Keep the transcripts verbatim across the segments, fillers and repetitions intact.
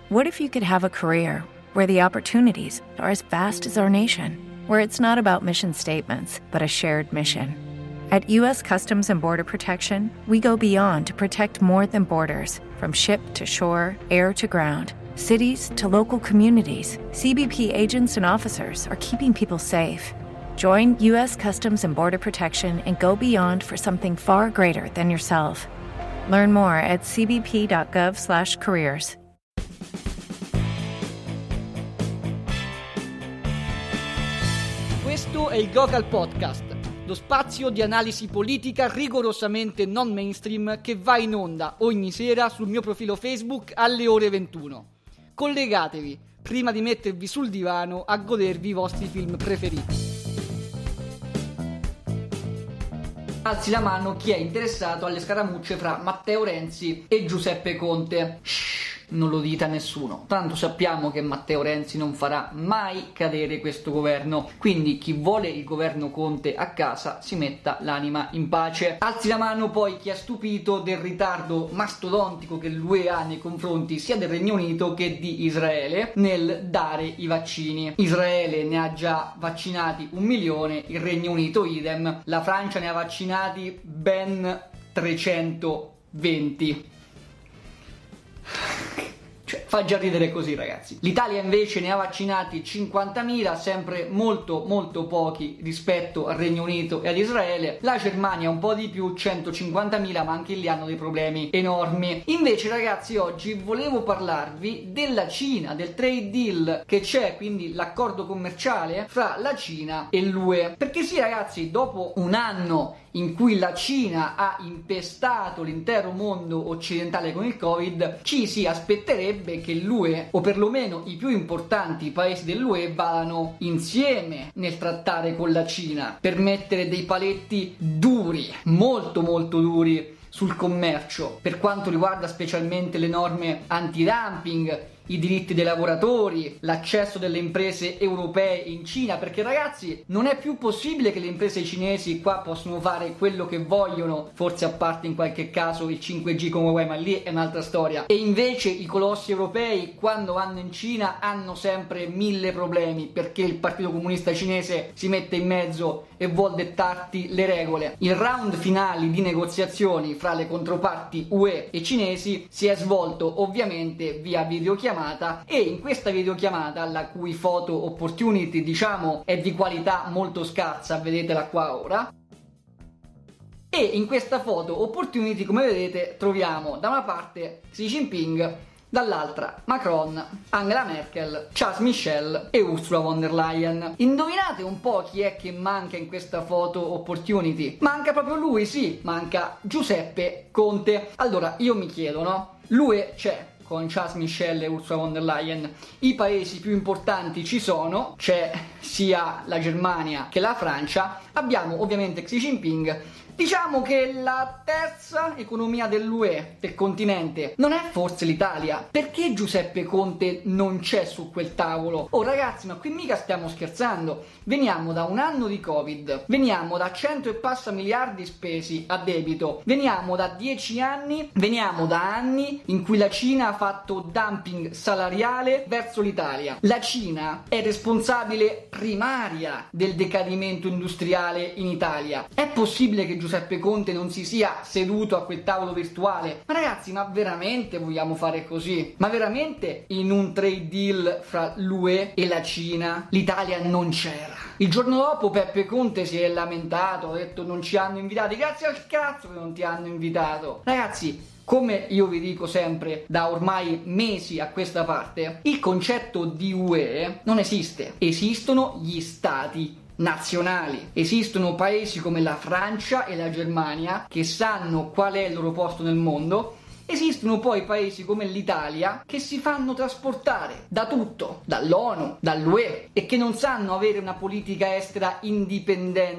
What if you could have a career where the opportunities are as vast as our nation, where it's not about mission statements, but a shared mission? At U S Customs and Border Protection, we go beyond to protect more than borders. From ship to shore, air to ground, cities to local communities, C B P agents and officers are keeping people safe. Join U S Customs and Border Protection and go beyond for something far greater than yourself. Learn more at c b p dot gov slash careers. Questo è il Gokal Podcast, lo spazio di analisi politica rigorosamente non mainstream che va in onda ogni sera sul mio profilo Facebook alle ore ventuno. Collegatevi prima di mettervi sul divano a godervi i vostri film preferiti. Alzi la mano chi è interessato alle scaramucce fra Matteo Renzi e Giuseppe Conte. Shhh, non lo dite a nessuno, tanto sappiamo che Matteo Renzi non farà mai cadere questo governo, quindi chi vuole il governo Conte a casa si metta l'anima in pace. Alzi la mano poi chi è stupito del ritardo mastodontico che l'U E ha nei confronti sia del Regno Unito che di Israele nel dare i vaccini. Israele ne ha già vaccinati un milione, il Regno Unito idem, la Francia ne ha vaccinati ben trecentoventi. Cioè, fa già ridere così, ragazzi. L'Italia invece ne ha vaccinati cinquantamila, sempre molto molto pochi rispetto al Regno Unito e ad Israele. La Germania un po' di più, centocinquantamila, ma anche lì hanno dei problemi enormi. Invece, ragazzi, oggi volevo parlarvi della Cina, del trade deal che c'è, quindi l'accordo commerciale fra la Cina e l'U E. Perché sì, ragazzi, dopo un anno in cui la Cina ha impestato l'intero mondo occidentale con il Covid, ci si aspetterebbe che l'U E, o perlomeno i più importanti paesi dell'U E, vadano insieme nel trattare con la Cina per mettere dei paletti duri, molto molto duri sul commercio, per quanto riguarda specialmente le norme anti-dumping, i diritti dei lavoratori, l'accesso delle imprese europee in Cina, perché ragazzi non è più possibile che le imprese cinesi qua possono fare quello che vogliono, forse a parte in qualche caso il cinque G come Huawei, ma lì è un'altra storia, e invece i colossi europei quando vanno in Cina hanno sempre mille problemi perché il Partito Comunista Cinese si mette in mezzo e vuol dettarti le regole. Il round finale di negoziazioni fra le controparti U E e cinesi si è svolto ovviamente via videochiamata, e in questa videochiamata, la cui photo opportunity diciamo è di qualità molto scarsa, vedetela qua ora, e in questa photo opportunity, come vedete, troviamo da una parte Xi Jinping, dall'altra Macron, Angela Merkel, Charles Michel e Ursula von der Leyen. Indovinate un po' chi è che manca in questa photo opportunity? Manca proprio lui, sì, manca Giuseppe Conte. Allora io mi chiedo, no? L'U E c'è con Charles Michel e Ursula von der Leyen, i paesi più importanti ci sono, c'è sia la Germania che la Francia, abbiamo ovviamente Xi Jinping. Diciamo che la terza economia dell'U E, del continente, non è forse l'Italia. Perché Giuseppe Conte non c'è su quel tavolo? Oh ragazzi, ma qui mica stiamo scherzando. Veniamo da un anno di Covid, veniamo da cento e passa miliardi spesi a debito, veniamo da dieci anni, veniamo da anni in cui la Cina ha fatto dumping salariale verso l'Italia. La Cina è responsabile primaria del decadimento industriale in Italia. È possibile che Giuseppe Conte non si sia seduto a quel tavolo virtuale? Ma ragazzi, ma veramente vogliamo fare così? Ma veramente in un trade deal fra l'U E e la Cina l'Italia non c'era? Il giorno dopo Peppe Conte si è lamentato, ha detto non ci hanno invitati. Grazie al cazzo che non ti hanno invitato. Ragazzi, come io vi dico sempre da ormai mesi a questa parte, il concetto di U E non esiste. Esistono gli stati nazionali. Esistono paesi come la Francia e la Germania che sanno qual è il loro posto nel mondo. Esistono poi paesi come l'Italia che si fanno trasportare da tutto, dall'ONU, dall'U E, e che non sanno avere una politica estera indipendente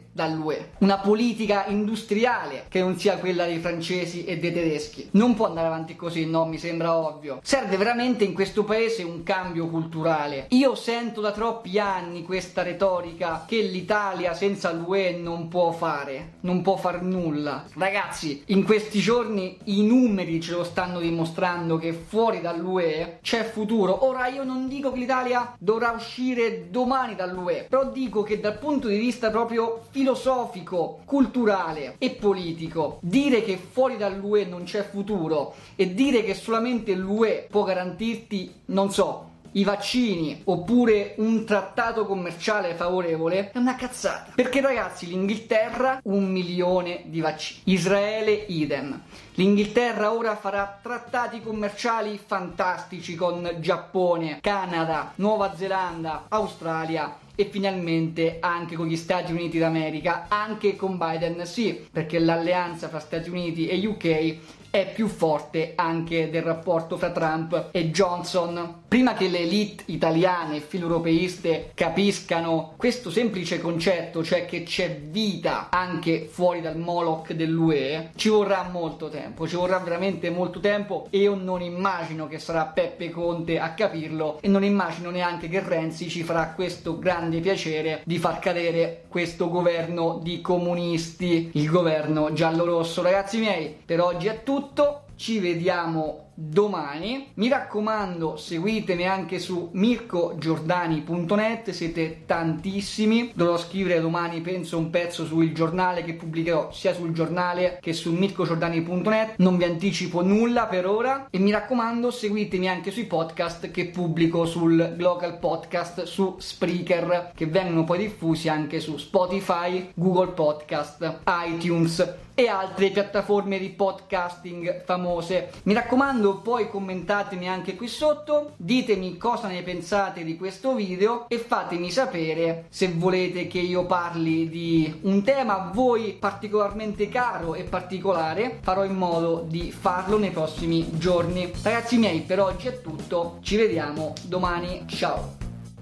dall'U E. Una politica industriale che non sia quella dei francesi e dei tedeschi. Non può andare avanti così, no, mi sembra ovvio. Serve veramente in questo paese un cambio culturale. Io sento da troppi anni questa retorica che l'Italia senza l'U E non può fare, non può far nulla. Ragazzi, in questi giorni i numeri ce lo stanno dimostrando che fuori dall'U E c'è futuro. Ora io non dico che l'Italia dovrà uscire domani dall'U E, però dico che dal punto di vista proprio filosofico, culturale e politico, dire che fuori dall'U E non c'è futuro e dire che solamente l'U E può garantirti, non so, i vaccini oppure un trattato commerciale favorevole è una cazzata. Perché ragazzi, l'Inghilterra un milione di vaccini, Israele idem. L'Inghilterra ora farà trattati commerciali fantastici con Giappone, Canada, Nuova Zelanda, Australia e finalmente anche con gli Stati Uniti d'America, anche con Biden, sì, perché l'alleanza fra Stati Uniti e U K è più forte anche del rapporto fra Trump e Johnson. Prima che le elite italiane e filoeuropeiste capiscano questo semplice concetto, cioè che c'è vita anche fuori dal Moloch dell'U E, ci vorrà molto tempo, ci vorrà veramente molto tempo e io non immagino che sarà Peppe Conte a capirlo e non immagino neanche che Renzi ci farà questo grande piacere di far cadere questo governo di comunisti, il governo giallo-rosso. Ragazzi miei, per oggi è tutto, ci vediamo domani. Mi raccomando, seguitemi anche su mirko giordani punto net, siete tantissimi. Dovrò scrivere domani, penso, un pezzo sul giornale che pubblicherò sia sul giornale che su mirko giordani punto net. Non vi anticipo nulla per ora e mi raccomando, seguitemi anche sui podcast che pubblico sul Glocal Podcast, su Spreaker, che vengono poi diffusi anche su Spotify, Google Podcast, iTunes e altre piattaforme di podcasting famose. Mi raccomando, poi commentatemi anche qui sotto, ditemi cosa ne pensate di questo video e fatemi sapere se volete che io parli di un tema a voi particolarmente caro e particolare. Farò in modo di farlo nei prossimi giorni. Ragazzi miei, per oggi è tutto, ci vediamo domani, ciao!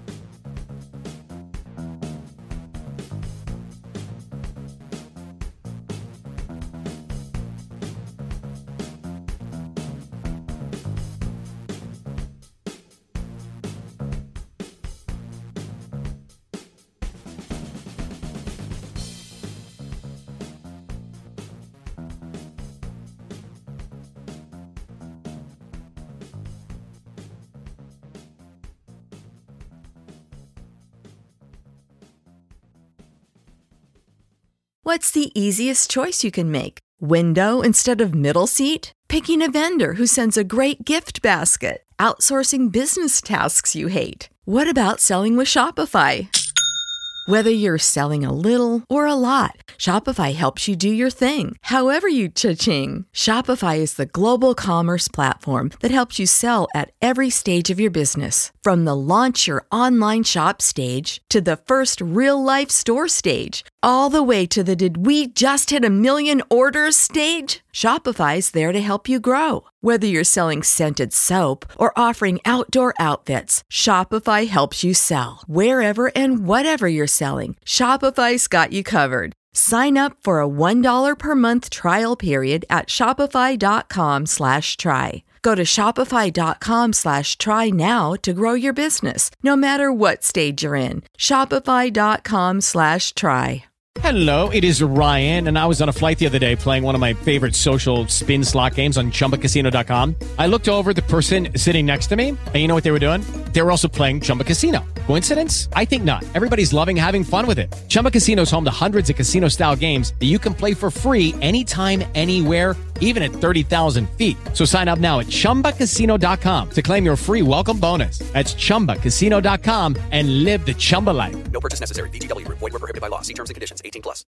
What's the easiest choice you can make? Window instead of middle seat? Picking a vendor who sends a great gift basket? Outsourcing business tasks you hate? What about selling with Shopify? Whether you're selling a little or a lot, Shopify helps you do your thing, however you cha-ching. Shopify is the global commerce platform that helps you sell at every stage of your business. From the launch your online shop stage to the first real-life store stage, all the way to the did we just hit a million orders stage? Shopify's there to help you grow. Whether you're selling scented soap or offering outdoor outfits, Shopify helps you sell. Wherever and whatever you're selling, Shopify's got you covered. Sign up for a one dollar per month trial period at shopify.com slash try. Go to shopify.com slash try now to grow your business, no matter what stage you're in. Shopify.com slash try. Hello, it is Ryan, and I was on a flight the other day playing one of my favorite social spin slot games on chumba casino dot com. I looked over at the person sitting next to me, and you know what they were doing? They were also playing Chumba Casino. Coincidence? I think not. Everybody's loving having fun with it. Chumba Casino is home to hundreds of casino-style games that you can play for free anytime, anywhere, even at thirty thousand feet. So sign up now at chumba casino dot com to claim your free welcome bonus. That's chumba casino dot com and live the Chumba life. No purchase necessary. V G W. Void where prohibited by law. See terms and conditions. eighteen plus.